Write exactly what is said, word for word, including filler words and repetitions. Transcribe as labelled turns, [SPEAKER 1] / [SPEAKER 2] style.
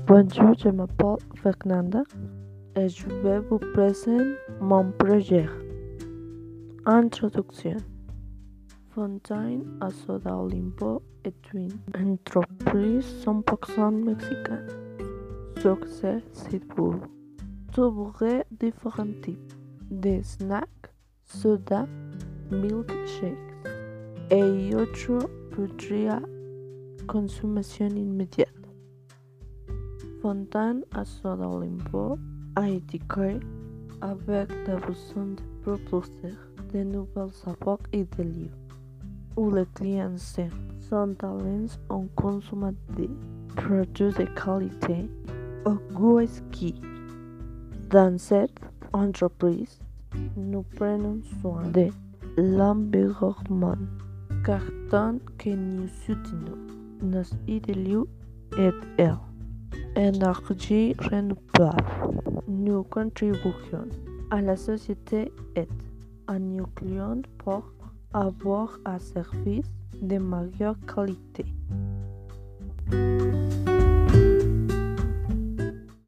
[SPEAKER 1] Bonjour, je m'appelle Fernanda et je vais vous présenter mon projet. Introduction. Fontaine à Soda Olimpo est une entreprise cent pour cent mexicaine. Succès, c'est pour trouver différents types de snacks, soda, milkshakes et autres produits à consommation immédiate. Fontaine à Soda Olimpo a été créée avec la besoin de proposer de nouvelles saveurs et de lieux où les clients sont allés en consommer des produits de qualité au goût exquis. Dans cette entreprise, nous prenons soin de l'environnement, car tant que nous soutenons nos idéaux et elle. Énergie renouvelable. Nous contribuons à la société et à nos clients pour avoir un service de meilleure qualité.